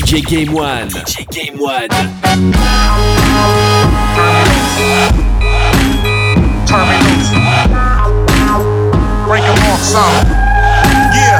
DJ Game One. DJ Game One. Turn me loose. Break them off some. Yeah.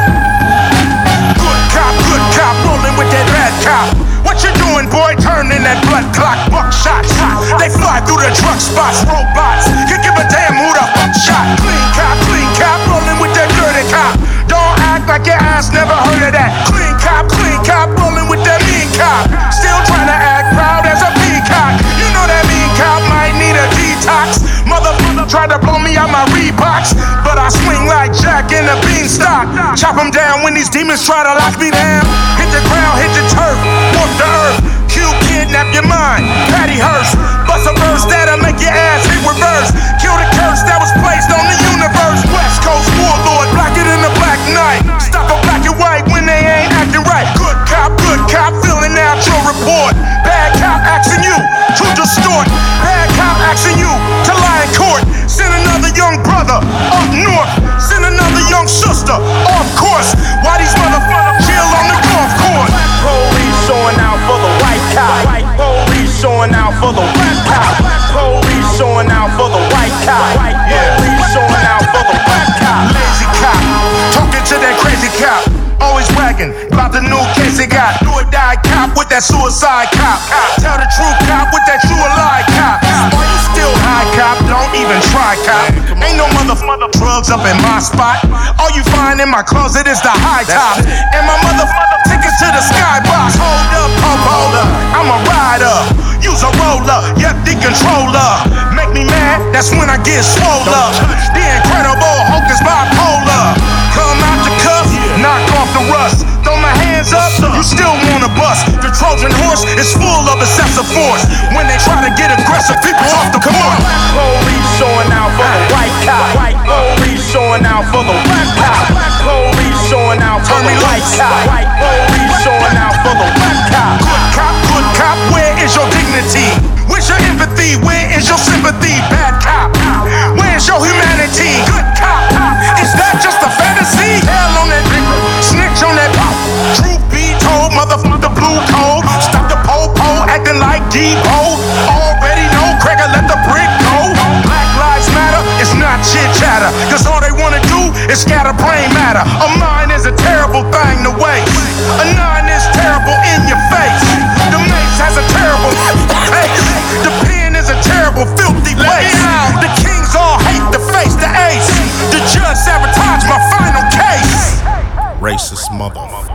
Good cop, rolling with that bad cop. What you doing, boy? Turning that blood clock, buckshots. They fly through the drug spots, robots. Could give a damn who the fuck shot. Clean cop, rolling with that dirty cop. Don't act like your ass never heard of that. Clean cop, rolling with that mean cop. Still trying to act proud as a peacock. You know that mean cop might need a detox. Motherfucker tried to blow me out my Reeboks, but I swing like Jack in a beanstalk. Chop them down when these demons try to lock me down. Hit the ground, hit the turf, walk the earth. Q kidnap your mind, Patty Hearst. Bust a verse that'll make your ass hit reverse. Kill the curse that was placed on the universe. West Coast warlord, blacker than the Black Knight. Stop a black and white when they ain't acting right. Good cop, filling out your report. Bad cop asking you to distort. Bad cop asking you to lie in court. Send another young brother up north. Send another young sister off course. Why these motherfuckers chill on the golf course? Police showing out for the white cop. Police showing out for the white cop. Police showing out for the white cop. Police showing out for the white cop. Lazy cop, talking to that crazy cop. Always bragging about the new case they got. Do or die cop with that suicide cop. Tell the true cop with that true or lie cop. Are you still high cop? Don't even try cop. Ain't no mother drugs up in my spot. All you find in my closet is the high top. And my tickets to the skybox. Hold up, I'm a rider. Use a roller, yep, the controller. Make me mad, that's when I get swole up. The Incredible Hulk is bipolar. Come out the cuff, knock off the rust. Throw my hands up, you still wanna bust. The Trojan horse is full of excessive force. When they try to get aggressive, people off the court. Police showing out for the white cop. Police showing out for the white cop. Police showing out for the white cop. Police showing out for the white cop. Good cop, where is your dignity? Where's your empathy? Where is your sympathy? Bad cop, where's your humanity? Good cop, is that just a fantasy? Hell on that nigga, snitch on that pop. Truth be told, motherfucker blue cold. Stop the po-po, acting like Debo. Already know, Craig'll let the brick go. Black lives matter, it's not chit chatter. Cause all they wanna do is scatter brain matter. A mind is a terrible thing to waste. A nine is terrible in your face. The mace has a terrible taste. The pen is a terrible filthy waste. The kings all hate the face, the ace. The judge sabotaged my final case. Racist motherfucker.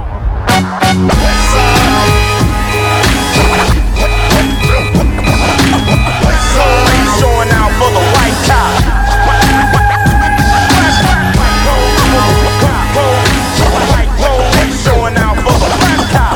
Showing out for the white cop. Showing out for the white cop.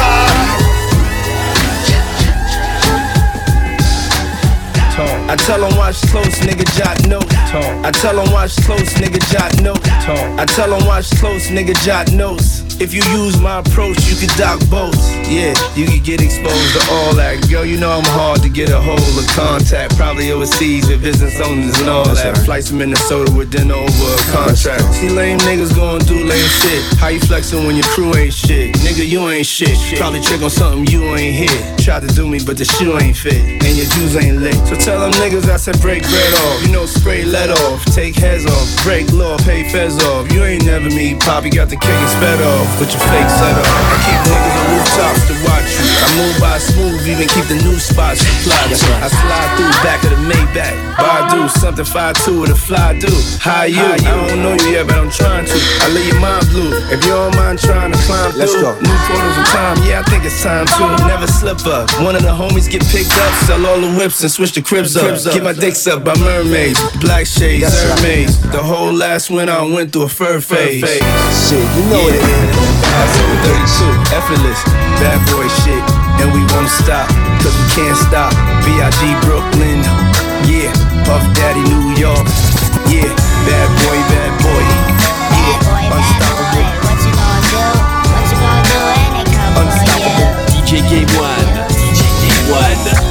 I tell 'em watch close, nigga, jot note. I tell 'em watch close, nigga, jot note. I tell 'em watch close, nigga, jot notes. If you use my approach, you can dock boats. Yeah, you can get exposed to all that. Girl, you know I'm hard to get a hold of contact. Probably overseas with business owners and all that. Flights to Minnesota with dinner over a contract. See lame niggas going do lame shit. How you flexing when your crew ain't shit? Nigga, you ain't shit. Probably trick on something you ain't hit. Tried to do me, but the shoe ain't fit. And your juice ain't lit. So tell them niggas I said break bread off. You know, spray lead off. Take heads off. Break law, pay feds off. You ain't never me. Poppy got the kick and sped off. With your fake set up. I keep niggas on rooftops to watch you. I move by smooth, even keep the new spots supplied. I slide through back of the Maybach. Badu, something 5'2" with a fly do. How you? I don't know you yet, but I'm trying to. I leave your mind blue. If you don't mind trying to climb Let's through. go. New photos of time, yeah, I think it's time to. Never slip up. One of the homies get picked up. Sell all the whips and switch the cribs up. Get my dicks up by mermaids. Black shades, Hermes. The whole last winter I went through a fur phase. Shit, you know it is. That's over 32, effortless, bad boy shit, and we won't stop, cause we can't stop. B.I.G. Brooklyn, yeah, Puff Daddy New York, yeah, bad boy, yeah, unstoppable. What you gonna do? What you gonna do when they come Unstoppable. for you? DJ Game One. DJ Game One.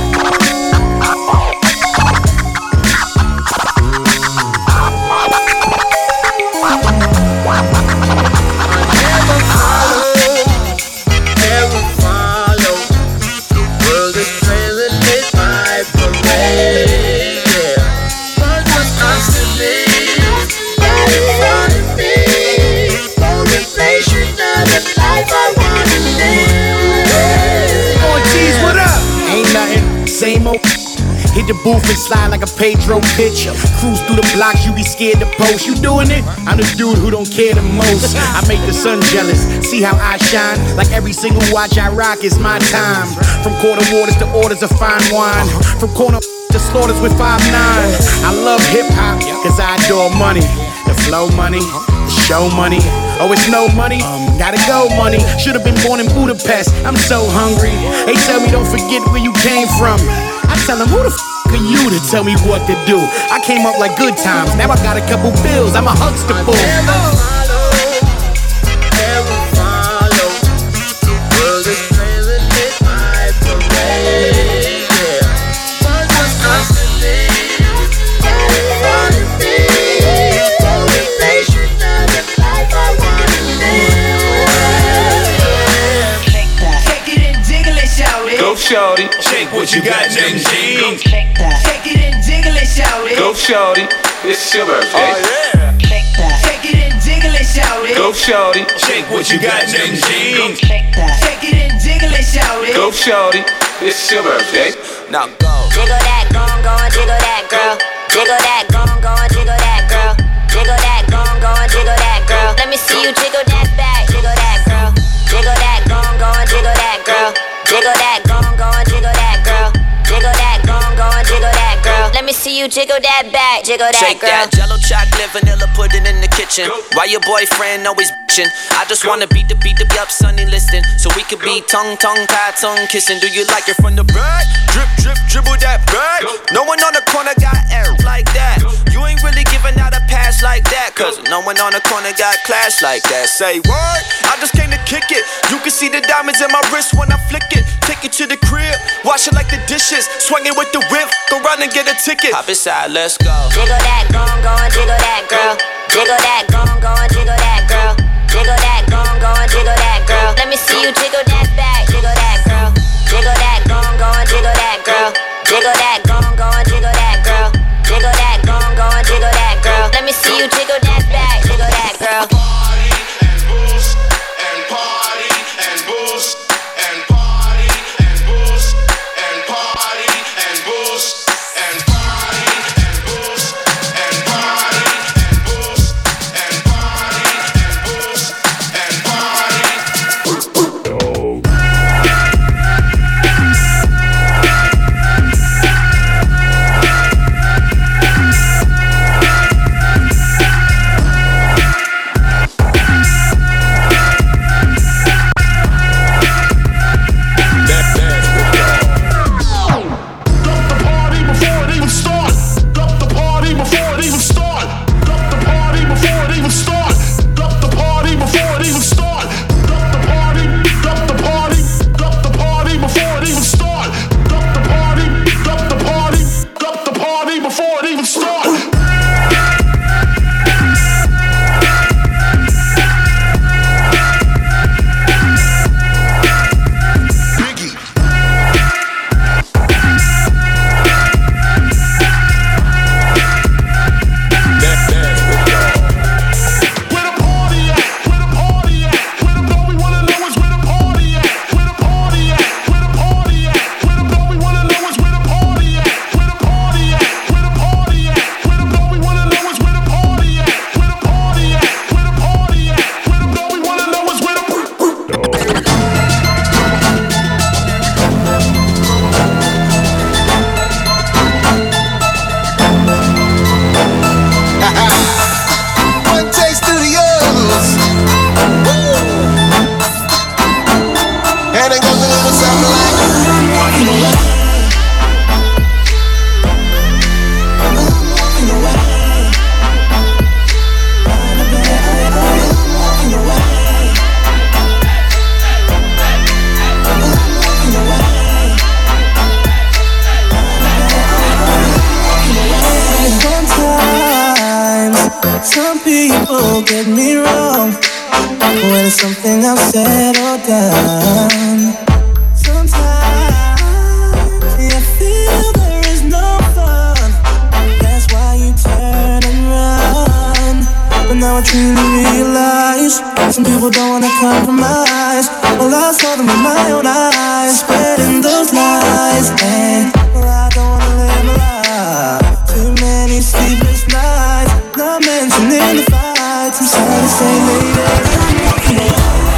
Never same old. Hit the booth and slide like a Pedro pitch. Cruise through the blocks, you be scared to post. You doing it? I'm the dude who don't care the most. I make the sun jealous, see how I shine. Like every single watch I rock is my time. From quarter waters to orders of fine wine. From corner to slaughters with 5'9". I love hip-hop, cause I adore money. The flow money, the show money. Oh, it's no money? Gotta go money. Should've been born in Budapest, I'm so hungry. They tell me don't forget where you came from. I tell them, who the f*** are you to tell me what to do? I came up like good times, now I got a couple bills, I'm a Huxtable. Go shorty, shake what you got, Jing Jing. Shake it and jiggle it, shout it. Go shorty, it's your birthday. Shake it and jiggle it, shout it. Go shorty, shake what you got, Jing Jing. Shake it and jiggle it, shout it. Go shorty, it's your birthday. Now go. Jiggle that, go and jiggle that, girl. Jiggle that, go and jiggle that, girl. Jiggle that, go and jiggle that, girl. Let me see you jiggle that back, jiggle that, girl. Jiggle that, go and jiggle that, girl. Jiggle that, go and jiggle that, girl. Jiggle that, go and jiggle that, girl. Let me see you jiggle that back, jiggle that, Shake girl. that Jello chocolate, vanilla pudding in the kitchen. Why your boyfriend always bitchin'? I just wanna beat the up, Sunny listing, so we could be tongue tie, tongue kissing. Do you like it from the back? Drip, dribble that back. No one on the corner got air like that. You ain't really giving out a pass like that, cause no one on the corner got class like that. Say what? I just came to kick it. You can see the diamonds in my wrist when I flick it. Take it to the crib, wash it like the dishes. Swing it with the whip, go run and get a ticket. Hop inside, let's go. Jiggle that, go and jiggle that, girl. Jiggle that, go and jiggle that, girl. Jiggle that, go and jiggle that, girl. Let me see you jiggle that back, jiggle that, girl. Jiggle that, go and jiggle that, girl. Jiggle that, go and jiggle that, girl. Jiggle that, go and jiggle that, girl. Let me see you jiggle that back, jiggle that, girl. Party and boost and party and boost and party and boost and party and boost and party and boost and party and boost and party and boost and party. people get me wrong when it's something I've said or done. Sometimes I feel there is no fun. That's why you turn and run. But now I truly realize some people don't wanna compromise. Well, I saw them with my own eyes, spreading those lies. And Too many sleepless nights, not mentioning the fights. I'm sorry to say, lady.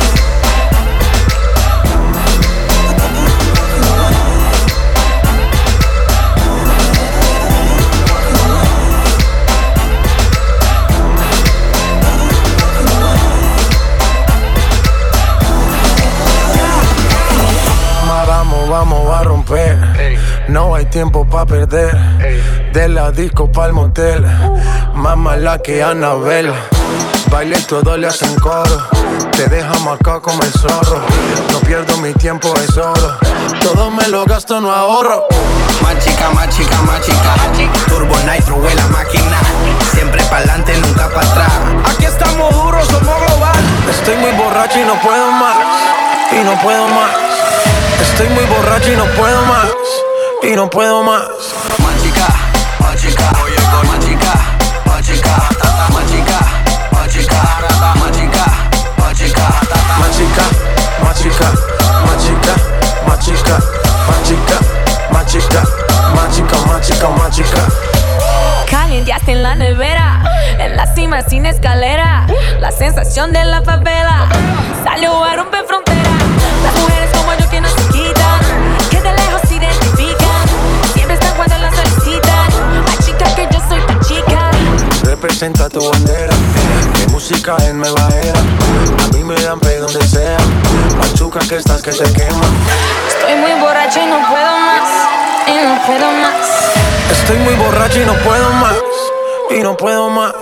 Vamos a romper, no hay tiempo pa' perder. De la disco pa'l motel, más mala que Annabelle. Baile todo le hacen coro, te deja marcado como el zorro. No pierdo mi tiempo, es oro, todo me lo gasto, no ahorro. Machica, machica, machica, Turbo Nitro, la máquina. Siempre pa'lante, nunca pa' atrás. Aquí estamos duros, somos global. Estoy muy borracho y no puedo más, y no puedo más. Estoy muy borracho y no puedo más, y no puedo más. Machica, machica, machica, machica, machica, machica, machica, machica, machica, machica, machica, machica, machica, machica, machica, machica, machica. Calienteaste en la nevera, en la cima sin escalera. La sensación de la favela salió a romper fronteras. Las mujeres como yo que no se quitan, que de lejos se identifican, siempre están cuando las solicitan. Ay chica que yo soy tu chica. Representa tu bandera, mi música en nueva era. A mí me dan pe donde sea, machuca que estás que te quema. Estoy muy borracho y no puedo más, y no puedo más. Estoy muy borracho y no puedo más, y no puedo más.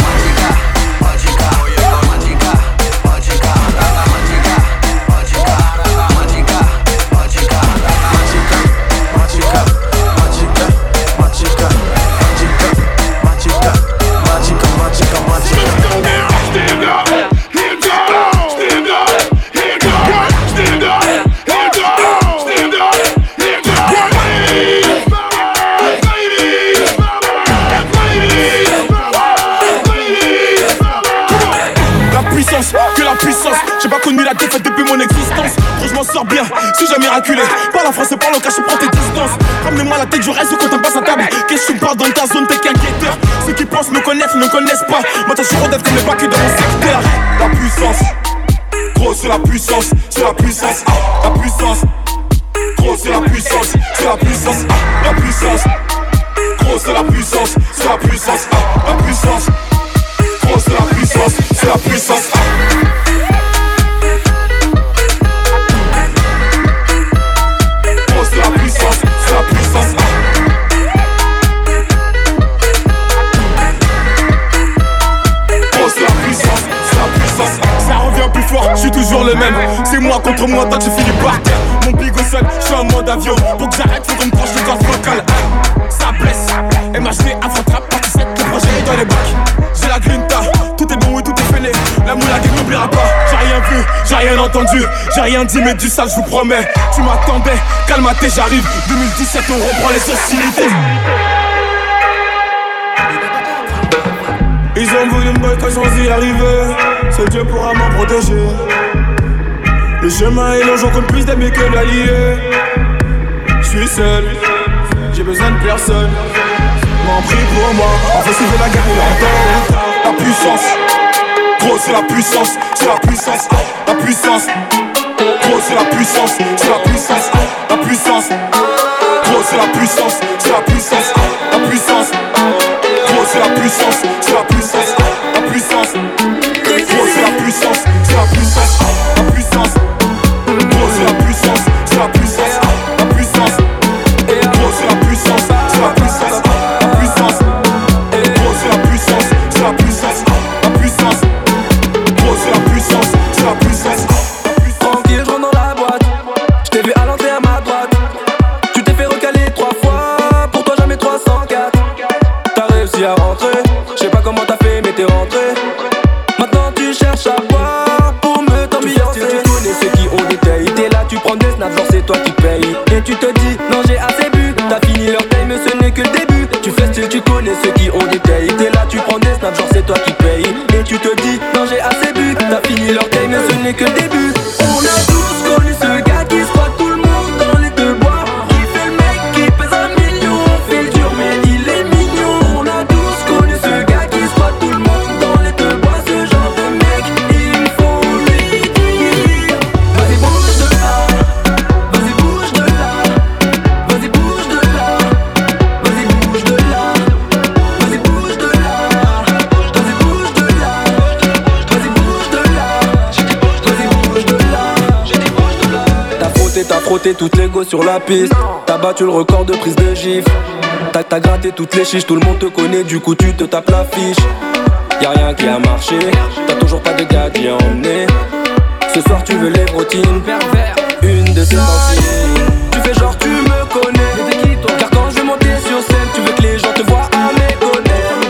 J'ai pas connu la défaite depuis mon existence. Gros, je m'en sors bien, suis-je miraculé. Parle en français, parle en cache, prends tes distances. Ramenez-moi la tête du reste quand on passe à table. Qu'est-ce que tu me parles dans ta zone, t'es qu'un guetteur. Ceux qui pensent me connaissent, ne connaissent pas. Moi, t'as toujours d'être comme les bacs dans mon secteur. La puissance, gros, c'est la puissance, c'est la puissance, la puissance. Gros, c'est la puissance, c'est la puissance, la puissance. Gros, c'est la puissance, c'est la puissance, la puissance. Gros, c'est la puissance, c'est la puissance. Je suis toujours le même, c'est moi contre moi, tant que j'ai fini par terre. Mon bigot seul, je suis en mode avion. Pour que j'arrête, faut qu'on me tranche le gaz vocal. Ça blesse, MHD, Afro-Trap, partie 7, le projet est dans les bacs. J'ai la grinta, tout est bon et tout est fêlé. La moulague n'oubliera pas, j'ai rien vu, j'ai rien entendu. J'ai rien dit mais du sale, je vous promets. Tu m'attendais, calme-toi, j'arrive. 2017, on reprend les hostilités. Ils ont voulu me boycotter sans y arriver. Seul Dieu pourra m'en protéger. Le chemin est long, j'en compte plus d'amis que d'alliés. J'suis seul, j'ai besoin de personne. M'en prie pour moi, en fait c'est la guerre et la puissance, gros c'est la puissance, c'est la puissance, la puissance. Gros c'est la puissance, c'est la puissance, la puissance. Gros c'est la puissance, c'est la puissance, la puissance. Gros c'est la puissance, c'est la puissance, la puissance. Gros c'est la puissance, c'est la puissance, la puissance. Gros c'est la puissance, c'est la puissance, la puissance. Gros c'est la puissance, c'est la puissance, la puissance. Gros c'est la puissance, c'est la puissance, la puissance. Gros c'est la puissance, c'est la puissance. Tranquille, je rentre dans la boîte. Je t'ai vu à l'entrée à ma droite. Tu t'es fait recaler 3 fois. Pour toi jamais 304. T'as réussi à rentrer. Je sais pas comment t'as fait mais t'es rentré. Maintenant tu cherches à boire pour me t'ambiancer. Tu connais ceux qui ont des tailles. T'es là, tu prends des snaps, genre c'est toi qui paye. Et tu te dis non j'ai assez bu. T'as fini leur taille mais ce n'est que le début. Tu fais style, tu connais ceux qui ont des tailles. T'es là, tu prends des snaps, genre c'est toi qui paye. Et tu te dis non j'ai assez bu. T'as fini leur taille mais ce n'est que le début. On a tous connu ce gars qui se croit tout le monde dans les deux bois. Qui fait le mec qui pèse 1 million. Fait le dur mais il T'as frotté toutes les go sur la piste. T'as battu le record de prise de gifle. T'as gratté toutes les chiches, tout le monde te connaît, du coup tu te tapes l'affiche. Y'a rien qui a marché, t'as toujours pas de gars qui a emmené. Ce soir tu veux les routines, une de tes sensibles. Tu fais genre tu me connais, car quand je vais monter sur scène, tu veux que les gens te voient à mes côtés.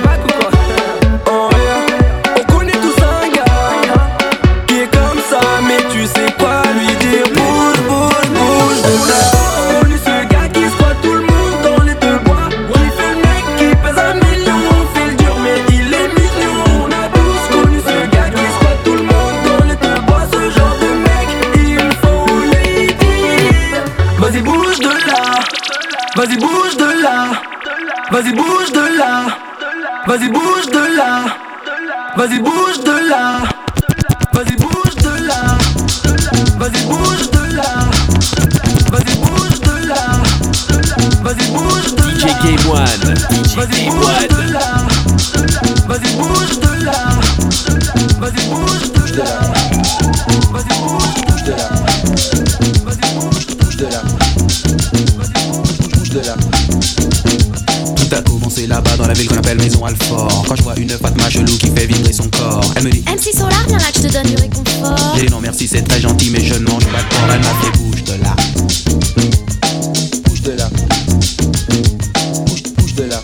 On connaît tous un gars qui est comme ça, mais tu sais pas lui dire bouge, bouge, bouge de là. On connaît ce gars qui se croit tout le monde dans les deux bois. Il fait le mec qui pèse 1 million, on fait le dur mais il est mignon. On a tous connu ce gars qui se croit tout le monde dans les deux bois. Ce genre de mec, il faut lui dire vas-y bouge de là, vas-y bouge de là, vas-y bouge de là, vas-y bouge de là, vas-y bouge de là, vas-y bouge de là, vas-y bouge de là, vas-y bouge de là, vas-y bouge de là, DJ K1, vas-y bouge de là, vas-y bouge de là, vas-y bouge de là, vas-y bouge de là, vas-y bouge de là, bouge de là. Tout a commencé là-bas dans la ville qu'on appelle Maison Alfort. Quand je vois une Fatma chelou qui fait vibrer son corps, elle me dit MC Solar, viens là que je te donne du réconfort. j'ai dit non merci c'est très gentil mais je ne mange pas de porc. Elle m'a fait bouge de là, Bouge de là. Bouge de là.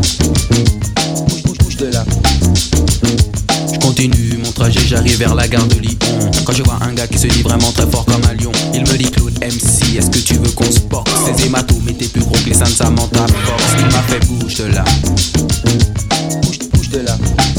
Bouge de là. je continue mon trajet, j'arrive vers la gare de Lyon. Quand je vois un gars qui se dit vraiment très fort comme un lion, il me dit Claude MC, est-ce que tu veux qu'on se boxe? Ces hématomes étaient plus gros que les seins de Samantha Fox. Il m'a fait bouge de là, Bouge de là.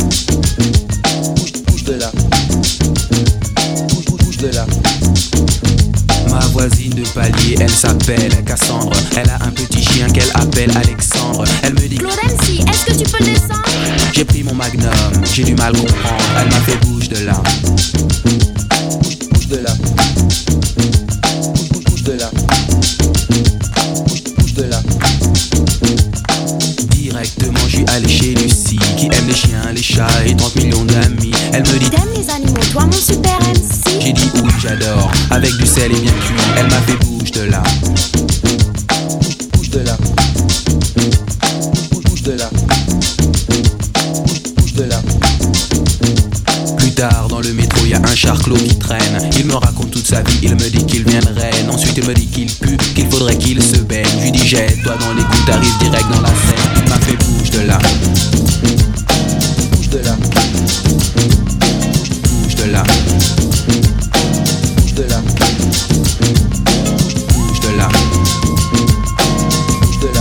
Bouge de là. Bouge de là. ma voisine de palier, elle s'appelle Cassandre. Elle a un petit chien qu'elle appelle Alexandre. Elle me dit Claude MC, est-ce que tu peux le descendre? j'ai pris mon magnum, j'ai du mal comprendre. Elle m'a fait bouge de là, Bouge de là. Bouge de là. Bouge de là. directement je suis allé chez Lucie qui aime les chiens, les chats et 30 millions d'amis. Elle me dit T'aimes les animaux, toi mon super MC? j'ai dit oui j'adore, avec du sel et bien cuit. Elle m'a fait bouge de là, Bouge de là. Bouge de là. Bouge de là. plus tard dans le métro y a un charclot qui traîne. Il me raconte toute sa vie, il me dit qu'il vient de Rennes. Ensuite il me dit qu'il pue, qu'il faudrait qu'il se baigne. Je lui dis jette-toi dans les coups, t'arrives direct dans la scène. Il m'a fait bouge de là, Bouge de là. bouge de là, Bouge de là. bouge de là, Bouge de là.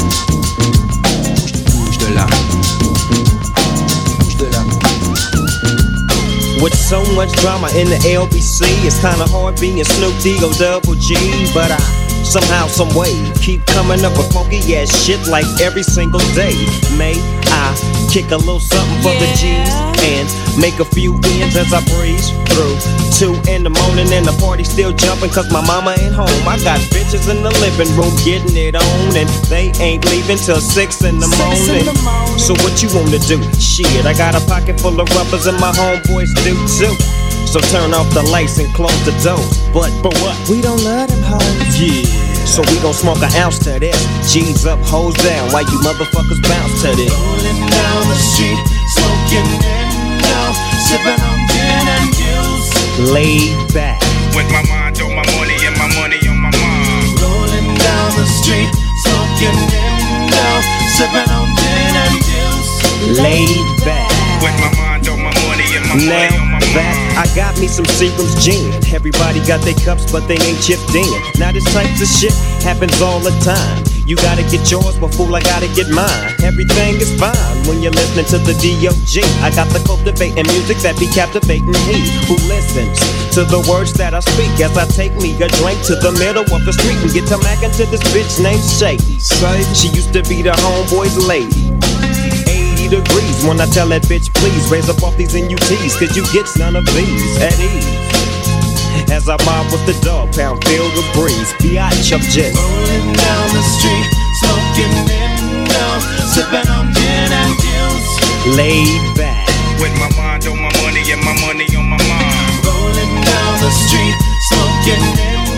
bouge de là. Bouge de là. With so much drama in the LBC, it's kinda hard being Snoop D-O Double G. But I somehow, some way, keep coming up with funky ass shit like every single day. May I kick a little something for the G's and make a few ends as I breeze through 2 in the morning and the party still jumping cause my mama ain't home. I got bitches in the living room getting it on and they ain't leaving till 6 in the morning. So what you wanna do? Shit, I got a pocket full of rubbers and my homeboys do too. So turn off the lights and close the door. But what? We don't love them hoes. Yeah. So we gon' smoke an ounce to this. G's up, hoes down, while you motherfuckers bounce to this. Rolling down the street, smoking window, sipping on gin and juice. Laid back. With my mind on my money and my money on my mind. Rolling down the street, smoking window, sipping on gin and juice. Laid back. With my mind on my money and my money on my mind. That I got me some Seagram's gin. Everybody got their cups, but they ain't chipped in. Now this type of shit happens all the time. You gotta get yours, but fool, I gotta get mine. Everything is fine when you're listening to the D.O.G. I got the cultivating music that be captivating he who listens to the words that I speak as I take me a drink to the middle of the street and get to mackin' to this bitch named Shady. She used to be the homeboy's lady. 80 degrees when I tell that bitch please raise up off these NUTs cause you get none of these at ease. As I mob with the dog pound filled with breeze, biatch, I'm just rolling down the street, smoking window, sipping on gin and juice. Laid back. With my mind on my money and my money on my mind. Rolling down the street, smoking window,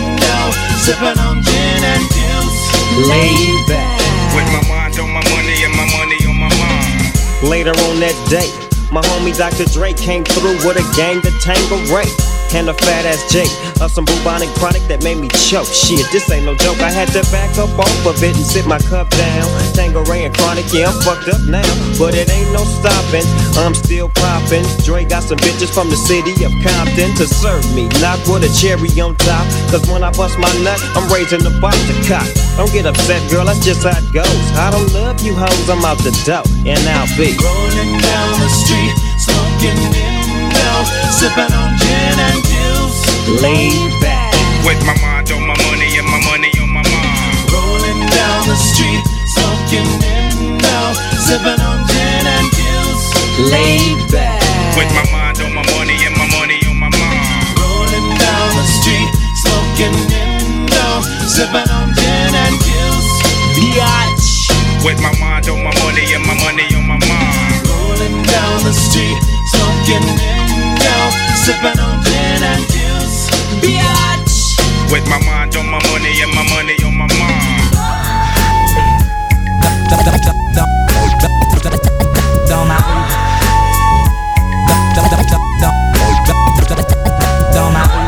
know, sipping on gin and juice. Laid back. With my mind on my money and my money on my mind. Later on that day, my homie Dr. Dre came through with a gang to Tanqueray and a fat ass J of some bubonic chronic that made me choke. Shit, this ain't no joke. I had to back up off of it and sit my cup down. Tanqueray and chronic, yeah, I'm fucked up now, but it ain't no stopping. I'm still popping. Dre got some bitches from the city of Compton to serve me, not with a cherry on top. Cause when I bust my nut, I'm raising the bar to cock. Don't get upset, girl, that's just how it goes. I don't love you hoes, I'm out the dough, and I'll be rolling down the street, smoking windows, sipping on gin and juice. Laid back. With my mind on my money and my money on my mind. Rolling down the street, smoking windows, sipping on gin and juice. Laid back. With my mind on my money and my money on my mind. Rolling down the street, smoking windows, sipping on gin and juice. Biatch. With my mind on my money and my money on my mind. Rolling down the street, smoking windows, sipping on gin and juice. Biatch. With my mind on my money and my money on my mind. Dans ma rue. Dans ma rue.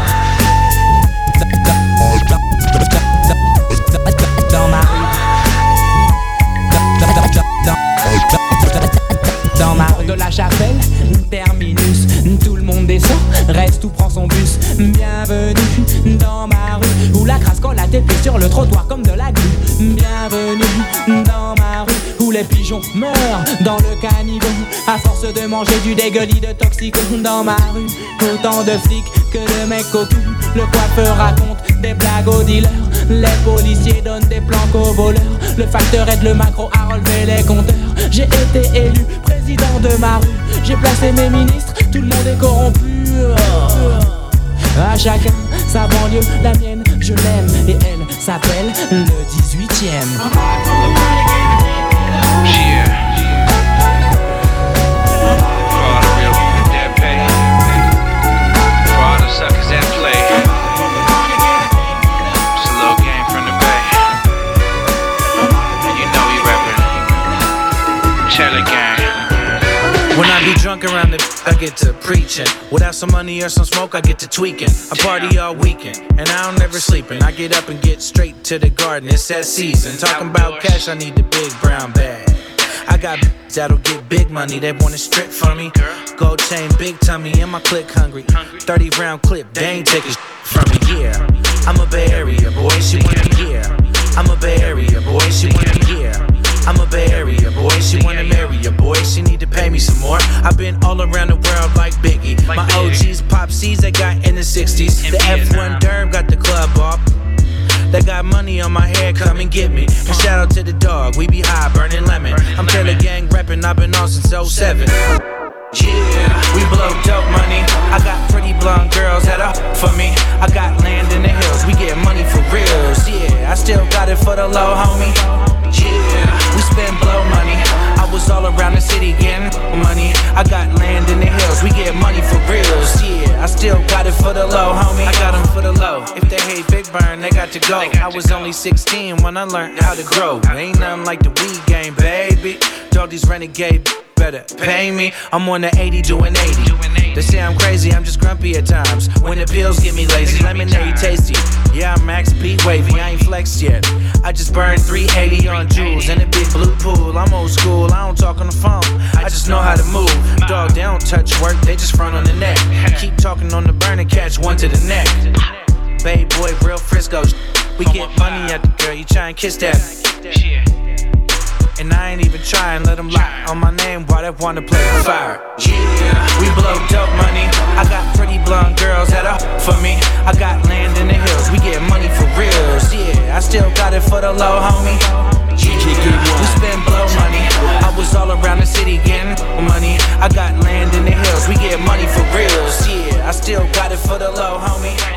Dans ma rue. Dans ma rue de la Chapelle, terminus, tout le monde descend, reste ou prend son bus. Bienvenue dans ma rue, où la crasse colle à tes pieds sur le trottoir comme de la glu. Bienvenue dans ma rue, où les pigeons meurent dans le caniveau à force de manger du dégueulis de toxico. Dans ma rue, autant de flics que de mecs au cul. Le coiffeur raconte des blagues aux dealers, les policiers donnent des planques aux voleurs. Le facteur aide le macro à relever les compteurs. J'ai été élu président de ma rue, j'ai placé mes ministres, tout le monde est corrompu. À chacun sa banlieue, la mienne je l'aime et elle s'appelle le 18e. When I be drunk around the I get to preaching. Without some money or some smoke, I get to tweaking. I party all weekend, and I don't never sleeping. I get up and get straight to the garden, it's that season. Talking about cash, I need the big brown bag. I got that'll get big money, they wanna strip for me. Gold chain, big tummy, and my click hungry. 30 round clip, they ain't taking from me, yeah. I'm a Bay Area boy, she wanna be here. I'm a Bay Area boy, she wanna be here. I'm a Bay Area boy, she wanna marry a boy, she need to pay me some more. I've been all around the world like Biggie. My OGs pop C's they got in the 60s. The F1 Derb got the club off. They got money on my head, come and get me. And shout out to the dog, we be high, burning lemon. I'm Taylor Gang reppin', I've been on since 07. Yeah, we blow dope money. I got pretty blonde girls that are for me. I got land in the hills, we get money for reals. Yeah, I still got it for the low, homie. Yeah, we spend blow money. I was all around the city getting money. I got land in the hills, we get money for reals. Yeah, I still got it for the low, homie. I got them for the low. If they hate Big Burn, they got to go. I was only 16 when I learned how to grow. Ain't nothing like the weed game, baby. All these renegade better pay me. I'm on the 80 doing 80. They say I'm crazy, I'm just grumpy at times. When the pills get me lazy, lemonade tasty. Yeah, I'm Max Pete wavy, I ain't flexed yet. I just burned 380 on jewels in a big blue pool. I'm old school, I don't talk on the phone. I just know how to move. Dog, they don't touch work, they just front on the neck. Keep talking on the burn and catch one to the neck. Bay boy, real Frisco. We get money at the girl, you try and kiss that. And I ain't even trying, let them lie on my name while they wanna play with fire. Yeah, we blow dope money. I got pretty blonde girls that are for me. I got land in the hills, we get money for reals. Yeah, I still got it for the low, homie. Yeah, we spend blow money. I was all around the city getting money. I got land in the hills, we get money for reals. Yeah, I still got it for the low, homie.